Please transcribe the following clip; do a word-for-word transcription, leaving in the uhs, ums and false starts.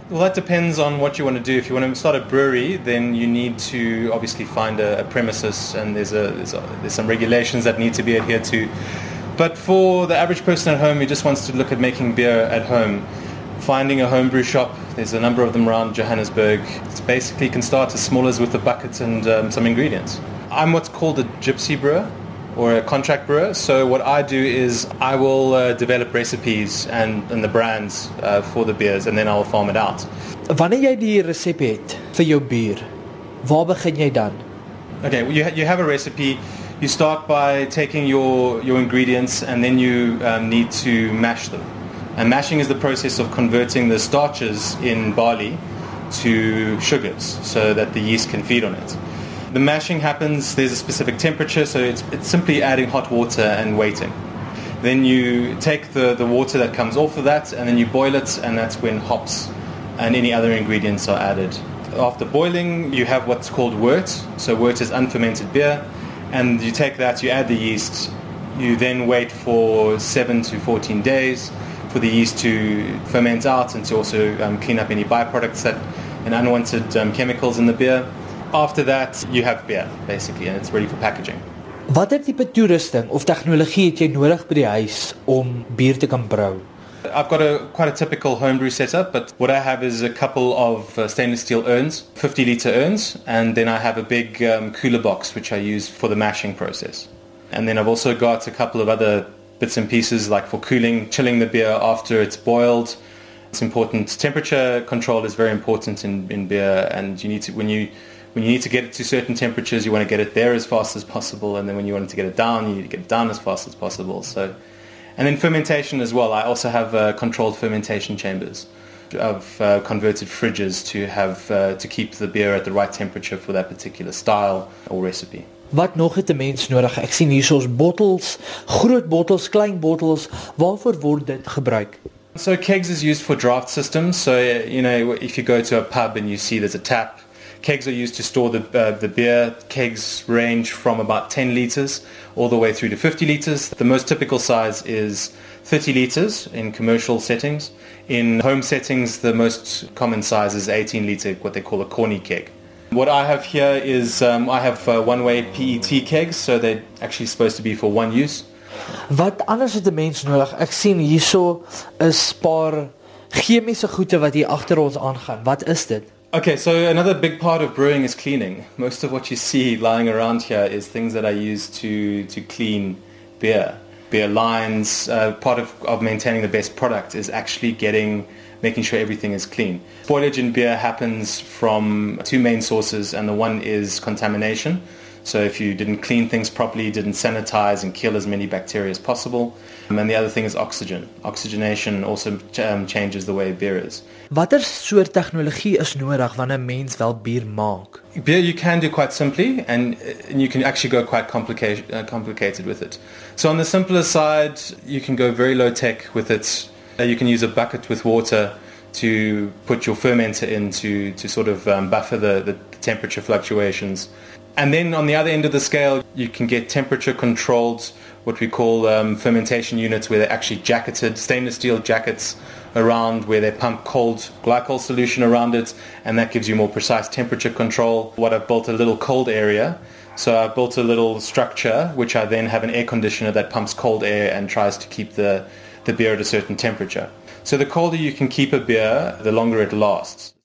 Well, that depends on what you want to do. If you want to start a brewery, then you need to obviously find a, a premises, and there's a, there's a there's some regulations that need to be adhered to. But for the average person at home who just wants to look at making beer at home, finding a homebrew shop, there's a number of them around Johannesburg. It's basically can start as small as with a bucket and um, some ingredients. I'm what's called a gypsy brewer, or a contract brewer. So what I do is I will uh, develop recipes and, and the brands uh, for the beers, and then I'll farm it out. Wanneer jy die resep het vir jou bier, waar begin jy dan? Okay, well, you, ha- you have a recipe. You start by taking your, your ingredients, and then you um, need to mash them. And mashing is the process of converting the starches in barley to sugars so that the yeast can feed on it. The mashing happens, there's a specific temperature, so it's, it's simply adding hot water and waiting. Then you take the, the water that comes off of that, and then you boil it, and that's when hops and any other ingredients are added. After boiling, you have what's called wort. So wort is unfermented beer, and you take that, you add the yeast, you then wait for seven to fourteen days for the yeast to ferment out and to also um, clean up any byproducts that, and unwanted um, chemicals in the beer. After that, you have beer, basically, and it's ready for packaging. Watter tipe toerusting of tegnologie het jy nodig by die huis om bier te kan brou? I've got a quite a typical homebrew setup, but what I have is a couple of uh, stainless steel urns, fifty litre urns, and then I have a big um, cooler box which I use for the mashing process. And then I've also got a couple of other bits and pieces like for cooling, chilling the beer after it's boiled. It's important. Temperature control is very important in, in beer, and you need to when you When you need to get it to certain temperatures, you want to get it there as fast as possible, and then when you want it to get it down, you need to get it down as fast as possible. So, and then fermentation as well. I also have uh, controlled fermentation chambers. I've uh, converted fridges to have uh, to keep the beer at the right temperature for that particular style or recipe. Wat nog het 'n mens nodig? Ek sien hiersoos bottels, groot bottels, klein bottels. Waarvoor word dit gebruik? So kegs is used for draft systems. So you know, if you go to a pub and you see there's a tap, kegs are used to store the uh, the beer. Kegs range from about ten litres all the way through to fifty litres. The most typical size is thirty litres in commercial settings. In home settings, the most common size is eighteen litre, what they call a corny keg. What I have here is um, I have uh, one-way P E T kegs, so they're actually supposed to be for one use. Wat anders het 'n mens nodig? Ek sien hierso is 'n paar chemiese goede wat hier agter ons aangaan. Wat is dit? Okay, so another big part of brewing is cleaning. Most of what you see lying around here is things that I use to, to clean beer. Beer lines, uh, part of, of maintaining the best product is actually getting, making sure everything is clean. Spoilage in beer happens from two main sources, and the one is contamination. So if you didn't clean things properly, didn't sanitize and kill as many bacteria as possible. Um, and the other thing is oxygen. Oxygenation also um, changes the way beer is. Watter soort tegnologie is nodig wanneer 'n mens wel bier maak? Beer you can do quite simply, and, and you can actually go quite complicated, uh, complicated with it. So on the simpler side, you can go very low tech with it. Uh, you can use a bucket with water to put your fermenter in to, to sort of um, buffer the, the temperature fluctuations. And then on the other end of the scale, you can get temperature controlled, what we call um, fermentation units, where they're actually jacketed, stainless steel jackets around where they pump cold glycol solution around it, and that gives you more precise temperature control. What I've built a little cold area. So I've built a little structure which I then have an air conditioner that pumps cold air and tries to keep the, the beer at a certain temperature. So the colder you can keep a beer, the longer it lasts.